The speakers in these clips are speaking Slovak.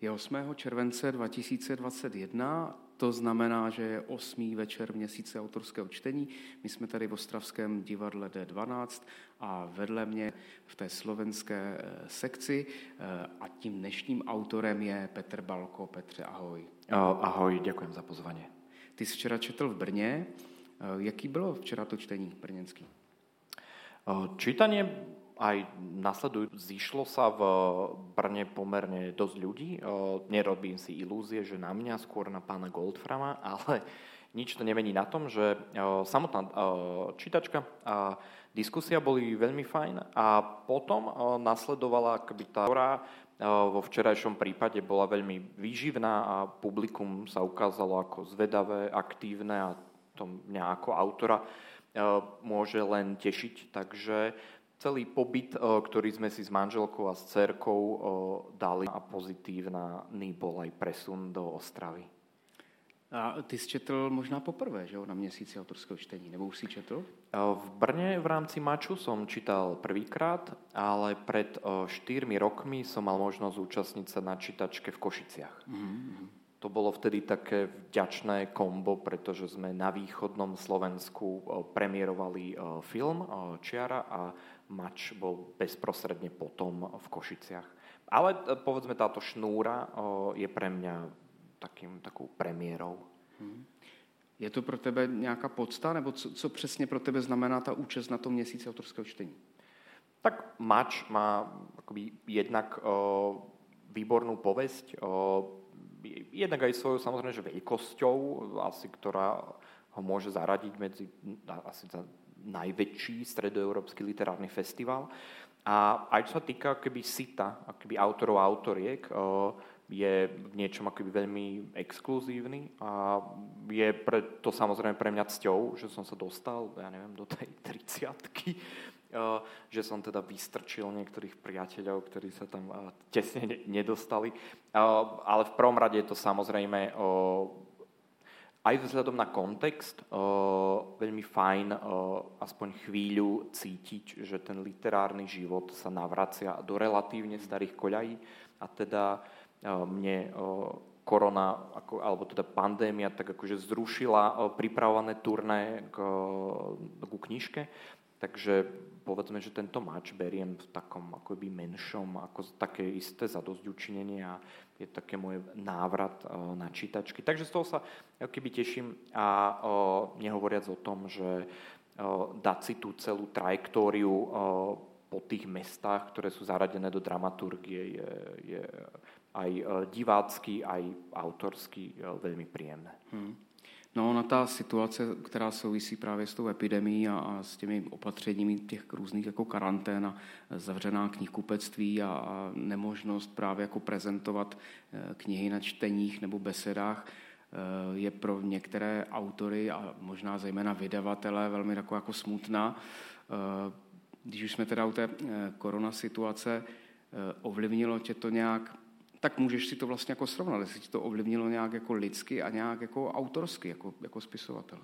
Je 8. července 2021, to znamená, že je 8. večer měsíce autorského čtení. My jsme tady v ostravském divadle D12 a vedle mě v té slovenské sekci a tím dnešním autorem je Petr Balko. Petře, ahoj. Ahoj, ďakujem za pozvanie. Ty jsi včera četl v Brně. Jaký bylo včera to čtení brněnský? Čítanie aj nasledujú, zišlo sa v Brne pomerne dosť ľudí. Nerobím si ilúzie, že na mňa, skôr na pána Goldframa, ale nič to nemení na tom, že samotná čítačka a diskusia boli veľmi fajn a potom nasledovala akoby tá, ktorá vo včerajšom prípade bola veľmi výživná a publikum sa ukázalo ako zvedavé, aktívne a to mňa ako autora môže len tešiť. Takže celý pobyt, ktorý sme si s manželkou a s dcerkou dali a pozitívny bol aj presun do Ostravy. A ty jsi četl možná poprvé, že jo, na měsíci autorského čtení, nebo už si četl? V Brne v rámci Maču som čítal prvýkrát, ale pred 4 rokmi som mal možnosť zúčastniť sa na čítačke v Košiciach. Mm-hmm. To bolo vtedy také vďačné kombo, pretože sme na východnom Slovensku premiérovali film Čiara a Mač bol bezprostredne potom v Košiciach. Ale povedzme, táto šnúra je pre mňa takou premiérou. Je to pro tebe nějaká podsta, nebo co přesně pro tebe znamená ta účast na tom měsíci autorského čtení? Tak Mač má akoby jednak výbornú povesť, jednak aj svojou samozrejme, že veľkosťou, asi ktorá ho môže zaradiť medzi asi za najväčší stredoeurópsky literárny festival. A aj čo sa týka akoby sita, akoby autorov a autoriek, je v niečom akoby veľmi exkluzívny a je to samozrejme pre mňa cťou, že som sa dostal, ja neviem, do tej 30-ky, že som teda vystrčil niektorých priateľov, ktorí sa tam tesne nedostali. Ale v prvom rade je to samozrejme aj vzhľadom na kontext veľmi fajn aspoň chvíľu cítiť, že ten literárny život sa navracia do relatívne starých koľají a teda mne korona, alebo teda pandémia tak akože zrušila pripravované turné ku knižke. Takže povedzme, že tento Mač beriem v takom akoby menšom, ako také isté zadosťučinenie a je také môj návrat na čítačky. Takže z toho sa akoby teším a nehovoriac o tom, že dať si tú celú trajektóriu po tých mestách, ktoré sú zaradené do dramaturgie, je aj divácky, aj autorsky veľmi príjemné. No, na ta situace, která souvisí právě s tou epidemií a s těmi opatřeními těch různých jako karantén a zavřená knihkupectví a nemožnost právě jako prezentovat knihy na čteních nebo besedách, je pro některé autory a možná zejména vydavatele velmi jako smutná. Když už jsme teda u té korona situace, ovlivnilo tě to nějak, tak můžeš si to vlastně jako srovnat, jestli ti to ovlivnilo nějak jako lidsky a nějak jako autorsky, jako spisovatel.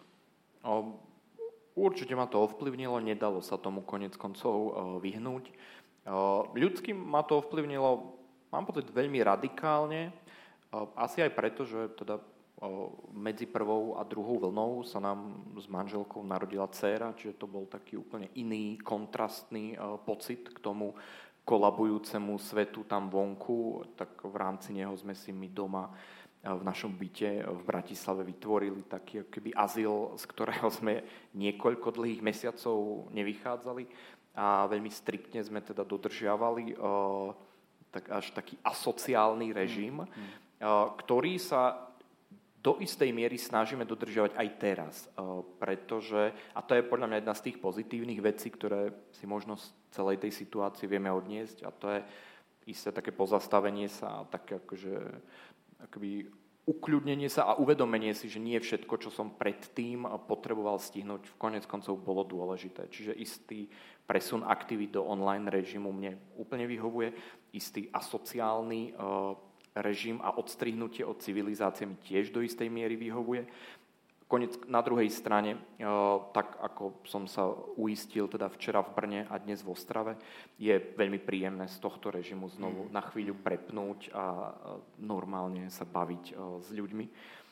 Určite ma to ovplyvnilo, nedalo sa tomu konec koncov vyhnúť. Ľudsky ma to ovplyvnilo, mám pocit, veľmi radikálne, asi aj preto, že teda medzi prvou a druhou vlnou sa nám s manželkou narodila dcéra, čiže to bol taký úplne iný, kontrastný pocit k tomu kolabujúcemu svetu tam vonku, tak v rámci neho sme si my doma v našom byte v Bratislave vytvorili taký akoby azyl, z ktorého sme niekoľko dlhých mesiacov nevychádzali a veľmi striktne sme teda dodržiavali tak až taký asociálny režim, ktorý sa do istej miery snažíme dodržiavať aj teraz, pretože, a to je podľa mňa jedna z tých pozitívnych vecí, ktoré si možno z celej tej situácie vieme odniesť, a to je isté také pozastavenie sa, také akoby ukľudnenie sa a uvedomenie si, že nie všetko, čo som predtým potreboval stihnúť, v konec koncov bolo dôležité. Čiže istý presun aktivít do online režimu mne úplne vyhovuje, istý asociálny režim a odstrihnutie od civilizácie mi tiež do istej miery vyhovuje. na druhej strane, tak ako som sa uistil teda včera v Brne a dnes v Ostrave, je veľmi príjemné z tohto režimu znovu na chvíľu prepnúť a normálne sa baviť s ľuďmi.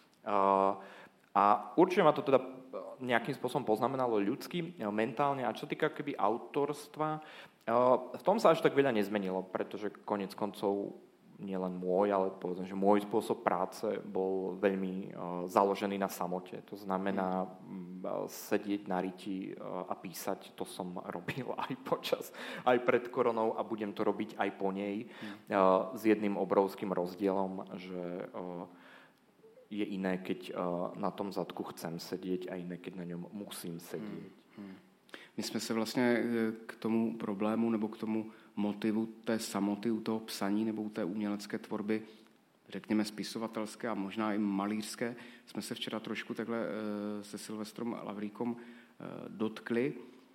A určite ma to teda nejakým spôsobom poznamenalo ľudsky, mentálne. A čo týka keby autorstva, v tom sa až tak veľa nezmenilo, pretože konec koncov nielen môj, ale povedzme, že môj spôsob práce bol veľmi založený na samote. To znamená sedieť na riti a písať. To som robil aj pred koronou a budem to robiť aj po nej. S jedným obrovským rozdielom, že je iné, keď na tom zadku chcem sedieť a iné, keď na ňom musím sedieť. My jsme se vlastně k tomu problému nebo k tomu motivu té samoty u toho psaní nebo u té umělecké tvorby, řekněme spisovatelské a možná i malířské, jsme se včera trošku takhle se Silvestrem Lavríkom dotkli.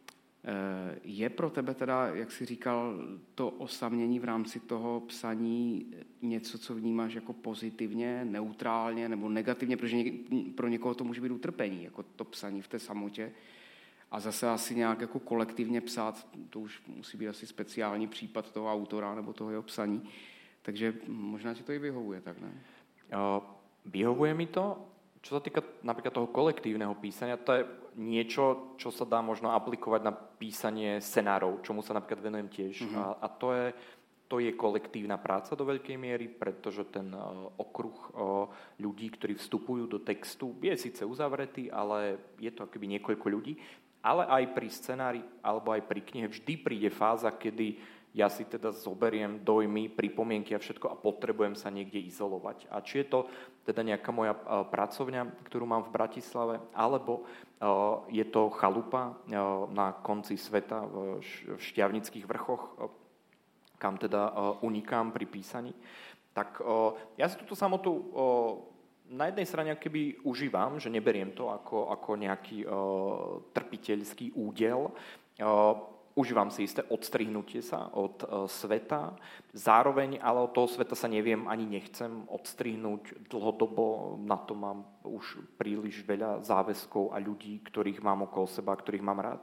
Je pro tebe teda, jak jsi říkal, to osamění v rámci toho psaní něco, co vnímáš jako pozitivně, neutrálně nebo negativně, protože pro někoho to může být utrpení, jako to psaní v té samotě. A zase asi nějak jako kolektivně psát, to už musí být asi speciální případ toho autora nebo toho jeho psaní. Takže možná ti to i vyhovuje, tak ne? Vyhovuje mi to. Čo sa týka napríklad toho kolektívneho písania, to je niečo, čo sa dá možno aplikovať na písanie scenárov, čomu sa napríklad venujem tiež. A to je kolektívna práca do veľkej miery, pretože ten okruh ľudí, ktorí vstupujú do textu, je síce uzavretý, ale je to akoby niekoľko ľudí. Ale aj pri scenári alebo aj pri knihe vždy príde fáza, kedy ja si teda zoberiem dojmy, pripomienky a všetko a potrebujem sa niekde izolovať. A či je to teda nejaká moja pracovňa, ktorú mám v Bratislave, alebo je to chalupa na konci sveta v Štiavnických vrchoch, kam teda unikám pri písaní, tak ja si túto samotu na jednej strane keby užívam, že neberiem to ako nejaký trpiteľský údel. Užívam si isté odstrihnutie sa od sveta. Zároveň ale od toho sveta sa neviem ani nechcem odstrihnúť dlhodobo. Na to mám už príliš veľa záväzkov a ľudí, ktorých mám okolo seba, ktorých mám rád.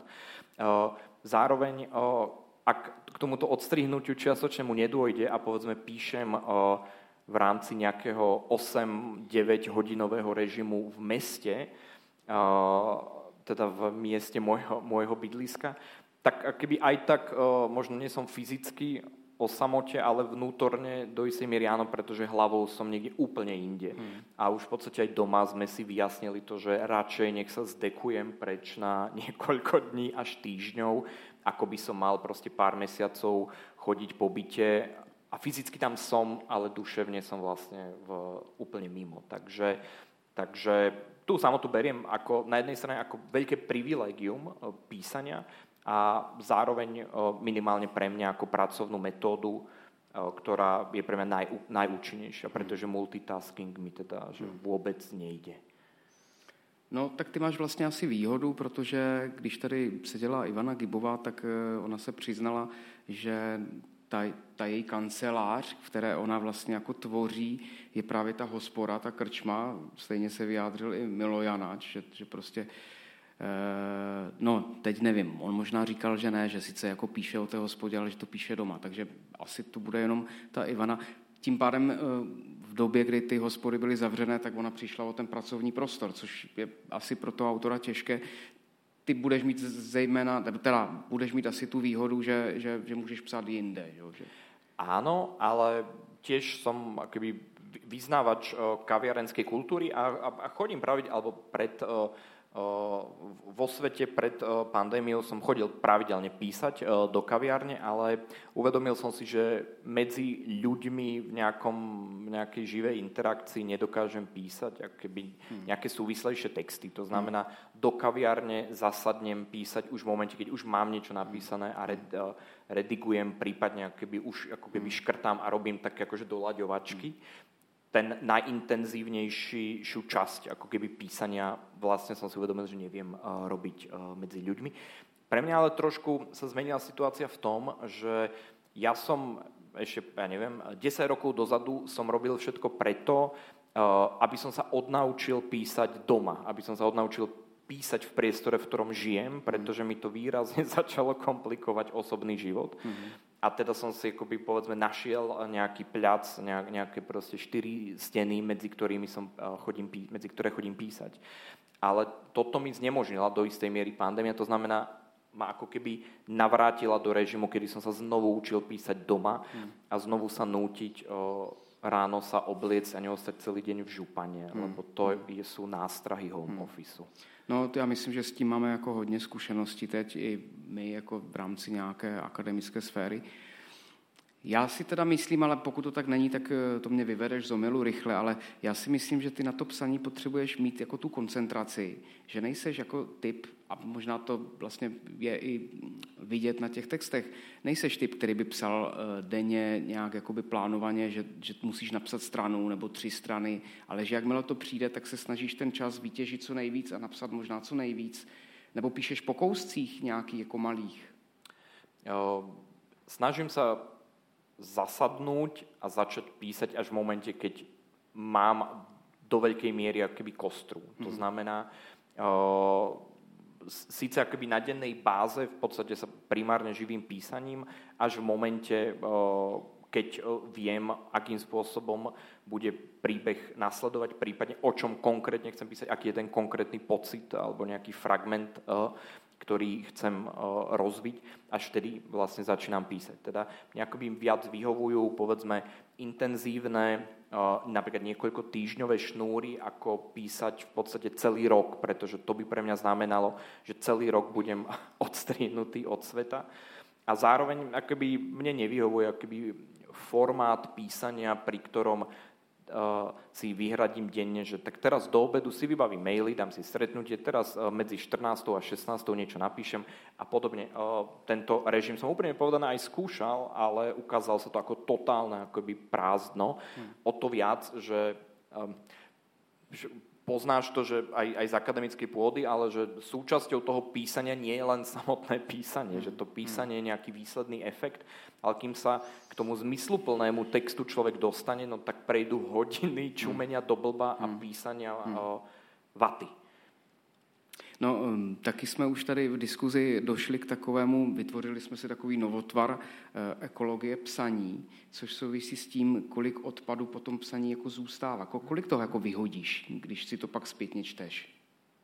Zároveň, ak k tomuto odstrihnutiu čiastočnému nedôjde a povedzme píšem v rámci nejakého 8-9 hodinového režimu v meste, teda v mieste môjho bydliska, tak keby aj tak možno nie som fyzicky o samote, ale vnútorne do istej miery áno, pretože hlavou som niekde úplne inde. A už v podstate aj doma sme si vyjasnili to, že radšej nech sa zdekujem preč na niekoľko dní až týždňov, ako by som mal proste pár mesiacov chodiť po byte a fyzicky tam som, ale duševne som vlastne úplne mimo. Takže tú samotu beriem ako, na jednej strane ako veľké privilégium písania a zároveň minimálne pre mňa ako pracovnú metódu, ktorá je pre mňa najúčinnejšia, pretože multitasking mi teda že vôbec nejde. No, tak ty máš vlastně asi výhodu, protože když tady seděla Ivana Gibová, tak ona se přiznala, že ta její kancelář, v které ona vlastně jako tvoří, je právě ta hospoda, ta krčma. Stejně se vyjádřil i Milo Janáč, že prostě, no teď nevím, on možná říkal, že ne, že sice jako píše o té hospodě, ale že to píše doma, takže asi to bude jenom ta Ivana. Tím pádem v době, kdy ty hospody byly zavřené, tak ona přišla o ten pracovní prostor, což je asi pro toho autora těžké. Ty budeš mít zejména, teda budeš mít asi tu výhodu, že můžeš psát jinde. Že? Áno, ale tiež som akoby vyznávač kaviarenskej kultúry a chodím alebo vo svete pred pandémiou som chodil pravidelne písať do kaviárne, ale uvedomil som si, že medzi ľuďmi v nejakej živej interakcii nedokážem písať akoby nejaké súvislejšie texty. To znamená, do kaviárne zasadnem písať už v momente, keď už mám niečo napísané a redigujem, prípadne ako keby škrtám a robím také akože doľaďovačky. Ten najintenzívnejšiu časť ako keby písania vlastne som si uvedomil, že neviem robiť medzi ľuďmi. Pre mňa ale trošku sa zmenila situácia v tom, že ja som ešte, 10 rokov dozadu som robil všetko preto, aby som sa odnaučil písať doma, aby som sa odnaučil písať v priestore, v ktorom žijem, pretože mi to výrazne začalo komplikovať osobný život. A teda som si akoby, povedzme, našiel nejaký pľac, nejaké proste 4 steny, medzi ktoré chodím písať. Ale toto mi znemožnila do istej miery pandémia, to znamená, ma ako keby navrátila do režimu, kedy som sa znovu učil písať doma a znovu sa nútiť ráno sa obliecť a neostať celý deň v župane, lebo to sú nástrahy home officeu. No, to já myslím, že s tím máme jako hodně zkušeností teď i my jako v rámci nějaké akademické sféry. Já si teda myslím, ale pokud to tak není, tak to mě vyvedeš z omylu rychle, ale já si myslím, že ty na to psaní potřebuješ mít jako tu koncentraci, že nejseš jako typ, a možná to vlastně je i vidět na těch textech, nejseš typ, který by psal denně nějak jakoby plánovaně, že musíš napsat stranu nebo 3 strany, ale že jakmile to přijde, tak se snažíš ten čas vytěžit co nejvíc a napsat možná co nejvíc, nebo píšeš po kouscích nějaký jako malých. Snažím sa zasadnúť a začať písať až v momente, keď mám do veľkej miery akoby kostru. To znamená, síce akoby na dennej báze v podstate sa primárne živím písaním, až v momente, keď viem, akým spôsobom bude príbeh nasledovať, prípadne o čom konkrétne chcem písať, aký je ten konkrétny pocit alebo nejaký fragment, ktorý chcem rozviť, až vtedy vlastne začínam písať. Teda mňa akoby viac vyhovujú, povedzme, intenzívne, napríklad niekoľko týždňové šnúry, ako písať v podstate celý rok, pretože to by pre mňa znamenalo, že celý rok budem odstrihnutý od sveta. A zároveň akoby mne nevyhovuje akoby formát písania, pri ktorom si vyhradím denne, že tak teraz do obedu si vybavím maily, dám si stretnutie, teraz medzi 14. a 16. niečo napíšem a podobne. Tento režim som úplne povedané aj skúšal, ale ukázal sa to ako totálne akoby prázdno. O to viac, že poznáš to, že aj z akademickej pôdy, ale že súčasťou toho písania nie je len samotné písanie, že to písanie je nejaký výsledný efekt, ale kým sa k tomu zmysluplnému textu človek dostane, no tak prejdú hodiny čumenia do blba a písania vaty. No, taky jsme už tady v diskuzi došli k takovému, vytvořili jsme si takový novotvar ekologie psaní, což souvisí s tím, kolik odpadu po tom psaní jako zůstává. Kolik toho jako vyhodíš, když si to pak zpětně čteš?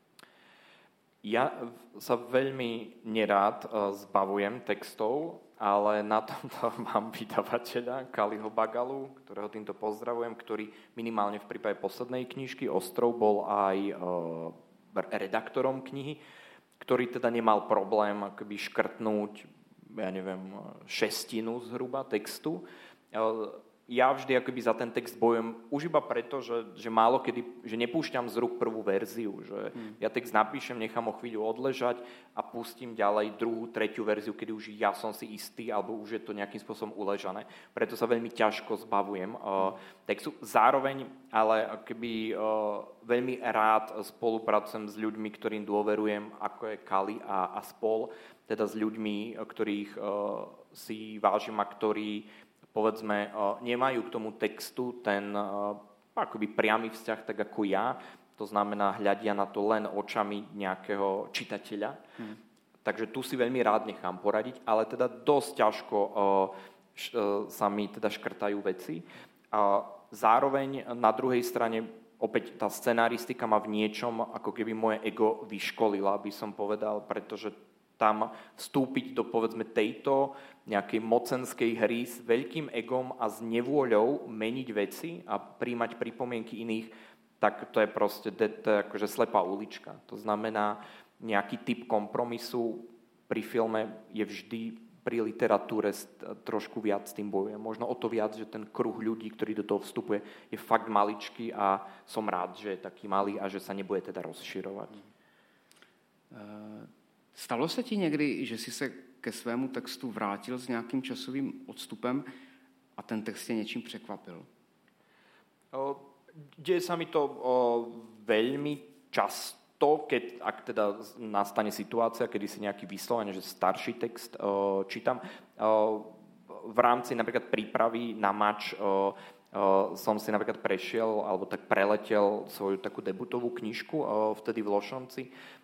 Ja sa veľmi nerád zbavujem textov, ale na tomto mám vydavateľa Kaliho Bagalu, ktorého týmto pozdravujem, ktorý minimálne v prípade poslednej knižky Ostrov bol aj redaktorom knihy, ktorý teda nemal problém akoby škrtnúť, ja neviem, 1/6 zhruba textu. Ja vždy akoby za ten text bojujem už iba preto, že málo kedy, že nepúšťam z rúk prvú verziu, že ja text napíšem, nechám ho chvíľu odležať a pustím ďalej druhú, tretiu verziu, kedy už ja som si istý, alebo už je to nejakým spôsobom uležané. Preto sa veľmi ťažko zbavujem textu. Zároveň, ale akoby veľmi rád spolupracujem s ľuďmi, ktorým dôverujem, ako je Kali a spol, teda s ľuďmi, ktorých si vážim a ktorí povedzme, nemajú k tomu textu ten akoby priamy vzťah, tak ako ja. To znamená, hľadia na to len očami nejakého čitateľa. Takže tu si veľmi rád nechám poradiť, ale teda dosť ťažko sa mi teda škrtajú veci. A zároveň na druhej strane opäť tá scenaristika ma v niečom ako keby moje ego vyškolila, by som povedal, pretože tam vstúpiť do, povedzme, tejto nejakej mocenskej hry s veľkým egom a s nevôľou meniť veci a príjmať pripomienky iných, tak to je proste to je akože slepá ulička. To znamená, nejaký typ kompromisu pri filme je vždy pri literatúre trošku viac s tým bojujem. Možno o to viac, že ten kruh ľudí, ktorý do toho vstupuje, je fakt maličký a som rád, že je taký malý a že sa nebude teda rozširovať. Stalo se ti někdy, že jsi se ke svému textu vrátil s nějakým časovým odstupem a ten text tě něčím překvapil? Deje sa mi to veľmi často, ak teda nastane situácia, kedy si nejaký vyslovene, že starší text čítam. V rámci napríklad prípravy na mač som si napríklad prešiel, alebo tak preletel svoju takú debutovú knižku vtedy v Lošonci,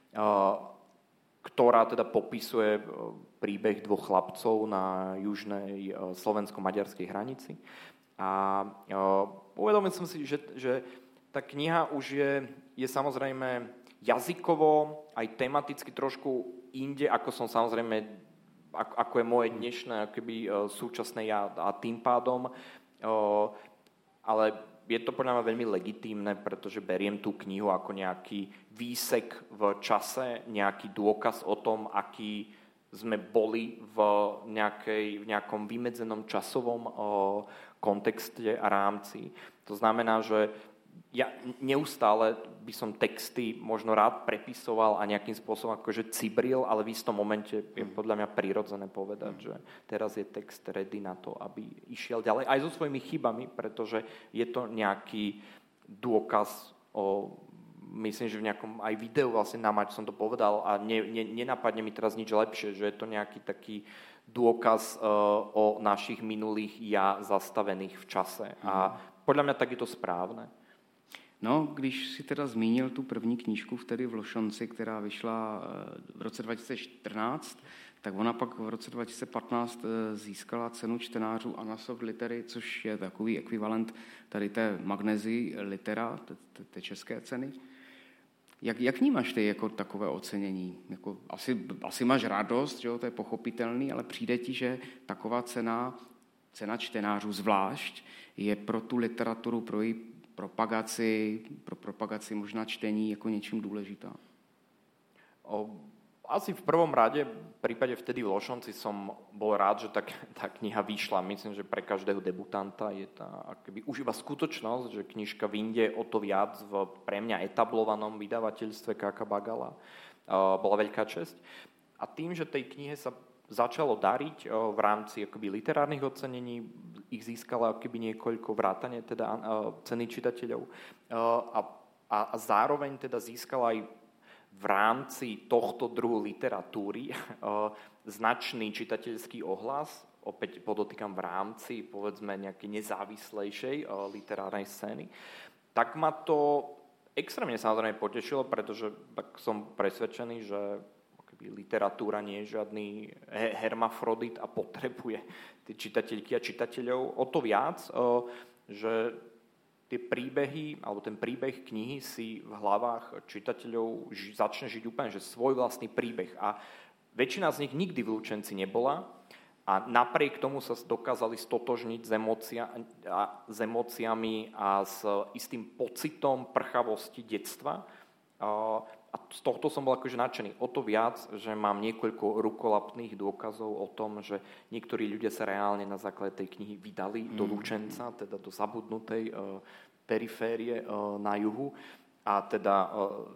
ktorá teda popisuje príbeh dvoch chlapcov na južnej slovensko-maďarskej hranici. A uvedomil som si, že tá kniha už je samozrejme jazykovo, aj tematicky trošku inde, ako som samozrejme, ako je moje dnešné akoby súčasné ja, a tým pádom, ale je to podľa mňa veľmi legitímne, pretože beriem tú knihu ako nejaký výsek v čase, nejaký dôkaz o tom, aký sme boli v nejakom vymedzenom časovom kontexte a rámci. To znamená, že ja neustále by som texty možno rád prepisoval a nejakým spôsobom akože cibril, ale v istom momente je podľa mňa prirodzené povedať, že teraz je text ready na to, aby išiel ďalej. Aj so svojimi chybami, pretože je to nejaký dôkaz o, myslím, že v nejakom aj videu vlastne na Mač som to povedal a nenapadne mi teraz nič lepšie, že je to nejaký taký dôkaz o našich minulých ja zastavených v čase. A podľa mňa tak je to správne. No, když si teda zmínil tu první knížku vtedy v Lošonci, která vyšla v roce 2014, tak ona pak v roce 2015 získala cenu čtenářů Anasoft Litery, což je takový ekvivalent tady té Magnezy Litera, té české ceny. Jak vnímáš ty jako takové ocenění? Jako, asi máš radost, že jo, to je pochopitelný, ale přijde ti, že taková cena čtenářů zvlášť je pro tu literaturu, pro její propagaci možná čtení jako něčím důležitá? Asi v prvom rade, v prípade vtedy v Lošonci som bol rád, že tá kniha vyšla. Myslím, že pre každého debutanta je tá akoby už iba skutočnosť, že knižka vyjde o to viac v pre mňa etablovanom vydavateľstve Káka Bagala. Bola veľká česť. A tým, že tej knihe sa začalo dariť v rámci akoby literárnych ocenení, ich získala akoby niekoľko vrátane teda ceny čitateľov a zároveň teda získala aj v rámci tohto druhu literatúry značný čitateľský ohlas, opäť podotýkam v rámci povedzme nejakej nezávislejšej literárnej scény, tak ma to extrémne samozrejme potešilo, pretože tak som presvedčený, že literatúra nie je žiadny hermafrodit a potrebuje tie čitateľky a čitateľov o to viac, že tie príbehy, alebo ten príbeh knihy si v hlavách čitateľov začne žiť úplne, že svoj vlastný príbeh. A väčšina z nich nikdy v Lučenci nebola a napriek tomu sa dokázali stotožniť s emóciami a s istým pocitom prchavosti detstva. A z tohto som bol akože nadšený. O to viac, že mám niekoľko rukolapných dôkazov o tom, že niektorí ľudia sa reálne na základe tej knihy vydali do Lučenca, teda do zabudnutej periférie na juhu. A teda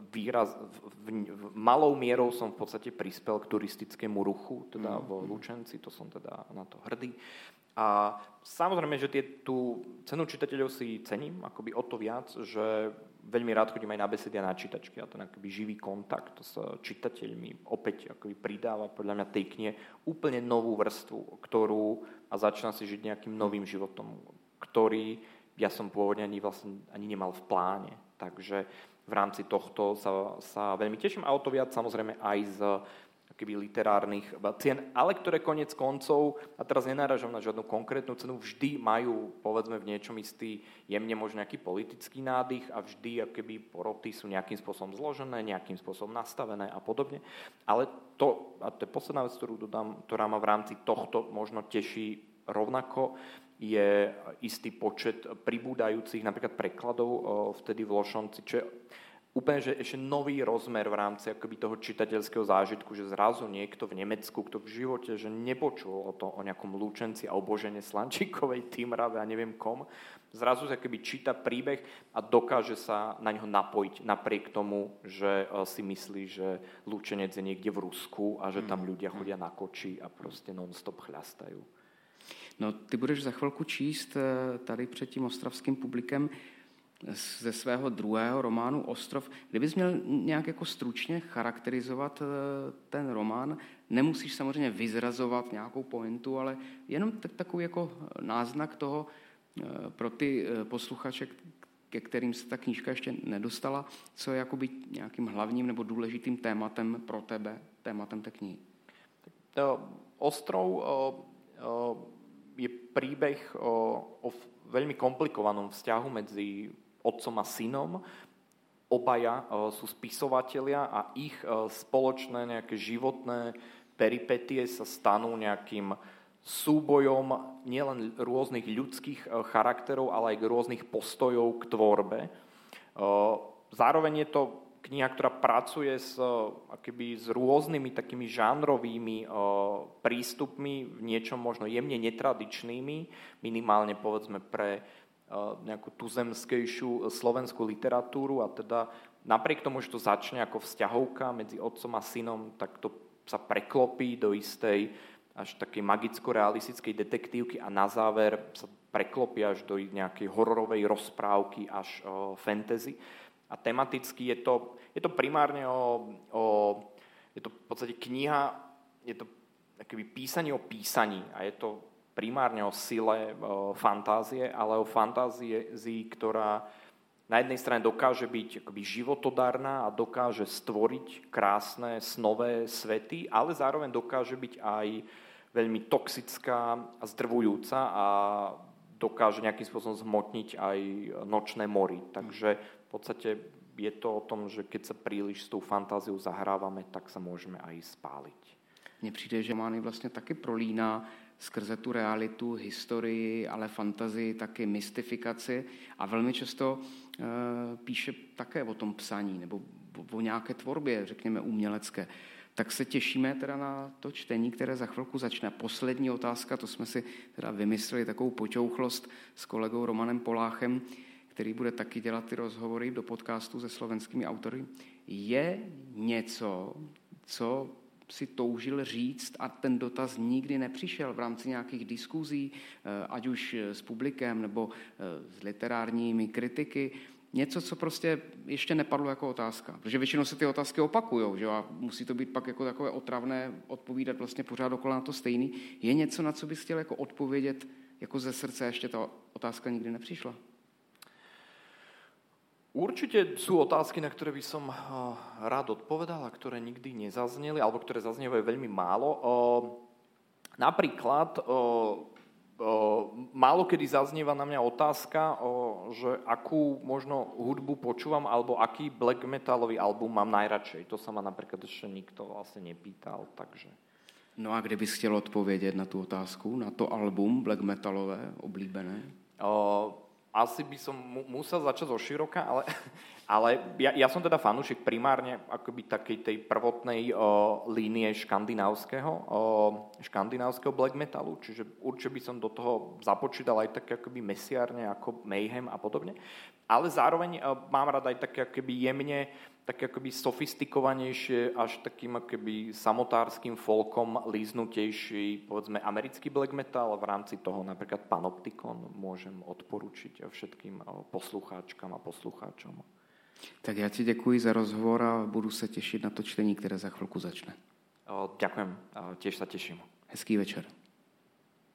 malou mierou som v podstate prispel k turistickému ruchu teda v Lučenci, to som teda na to hrdý. A samozrejme, že tú cenu čitateľov si cením akoby o to viac, že veľmi rád chodím aj na besedy a na čítačky a ten akoby živý kontakt s čitateľmi opäť akoby pridáva podľa mňa tej knihe úplne novú vrstvu, a začína si žiť nejakým novým životom, ktorý ja som pôvodne ani nemal v pláne. Takže v rámci tohto sa veľmi teším a o to viac samozrejme aj z keby literárnych cien, ale ktoré koniec koncov, a teraz nenáražam na žiadnu konkrétnu cenu, vždy majú, povedzme, v niečom istý jemne možno nejaký politický nádych a vždy akoby poroty sú nejakým spôsobom zložené, nejakým spôsobom nastavené a podobne. Ale to je posledná vec, ktorú dodám, ktorá ma v rámci tohto možno teší rovnako, je istý počet pribúdajúcich napríklad prekladov vtedy v Lošonci, čo je úplne, že ešte nový rozmer v rámci akoby toho čitateľského zážitku, že zrazu niekto v Nemecku, kto v živote že nepočul o nejakom Lučenci a o Božene Slančíkovej, Týmrave a neviem kom, zrazu sa akoby číta príbeh a dokáže sa na ňo napojiť napriek tomu, že si myslí, že Lučenec je niekde v Rusku a že tam ľudia chodia na koči a proste non-stop chľastajú. No, ty budeš za chvilku číst tady před tím ostravským publikem ze svého druhého románu Ostrov. Kdybys měl nějak jako stručně charakterizovat ten román, nemusíš samozřejmě vyzrazovat nějakou pointu, ale jenom takový jako náznak toho, pro ty posluchače, ke kterým se ta knížka ještě nedostala, co je jakoby nějakým hlavním nebo důležitým tématem pro tebe, tématem té knihy? Ostrov je príbeh o veľmi komplikovanom vzťahu medzi otcom a synom. Obaja sú spisovatelia a ich spoločné nejaké životné peripetie sa stanú nejakým súbojom nielen rôznych ľudských charakterov, ale aj rôznych postojov k tvorbe. Zároveň je to kniha, ktorá pracuje s rôznymi takými žánrovými prístupmi, v niečom možno jemne netradičnými, minimálne povedzme pre nejakú tuzemskejšiu slovenskú literatúru, a teda napriek tomu, že to začne ako vzťahovka medzi otcom a synom, tak to sa preklopí do istej až takej magicko-realistickej detektívky a na záver sa preklopí až do nejakej hororovej rozprávky až fantasy. A tematicky je to primárne je to v podstate kniha, je to akoby písanie o písaní a je to primárne o sile fantázie, ale o fantázii, ktorá na jednej strane dokáže byť akoby životodárna a dokáže stvoriť krásne snové svety, ale zároveň dokáže byť aj veľmi toxická a zdrvujúca a dokáže nejakým spôsobom zhmotniť aj nočné mory. Takže v podstate je to o tom, že keď sa príliš s tou fantáziou zahrávame, tak sa môžeme aj spáliť. Mně přijde, že romány vlastně taky prolíná skrze tu realitu, historii, ale fantazii, taky mystifikaci a velmi často píše také o tom psaní nebo o nějaké tvorbě, řekněme umělecké. Tak se těšíme teda na to čtení, které za chvilku začne. Poslední otázka, to jsme si teda vymysleli takovou počouchlost s kolegou Romanem Poláchem, který bude taky dělat ty rozhovory do podcastu se slovenskými autory. Je něco, co si toužil říct a ten dotaz nikdy nepřišel v rámci nějakých diskuzí, ať už s publikem nebo s literárními kritiky, něco, co prostě ještě nepadlo jako otázka. Protože většinou se ty otázky opakujou, že? A musí to být pak jako takové otravné odpovídat vlastně pořád dokola na to stejný. Je něco, na co bys chtěl jako odpovědět jako ze srdce, ještě ta otázka nikdy nepřišla? Určite sú otázky, na ktoré by som rád odpovedal a ktoré nikdy nezazneli, alebo ktoré zaznievajú veľmi málo. Napríklad málo kedy zaznieva na mňa otázka, že akú možno hudbu počúvam, alebo aký black metalový album mám najradšej. To sa ma napríklad ešte nikto vlastne nepýtal, takže... No a kdybys chtěl odpovědět na tu otázku, na to album black metalové, oblíbené? Asi by som musel začať zo široka, ale ja som teda fanúšik primárne akoby takej tej prvotnej línie škandinávskeho black metalu, čiže určite by som do toho započítal aj také akoby mesiárne ako Mayhem a podobne, ale zároveň mám rád aj také akoby jemne, také akoby sofistikovanejšie až takým akoby samotárskym folkom líznutejší, povedzme americký black metal, v rámci toho napríklad Panopticon môžem odporučiť všetkým poslucháčkám a poslucháčom. Tak já ti děkuji za rozhovor a budu se těšit na to čtení, které za chvilku začne. Ďakujem, tiež sa teším. Hezký večer.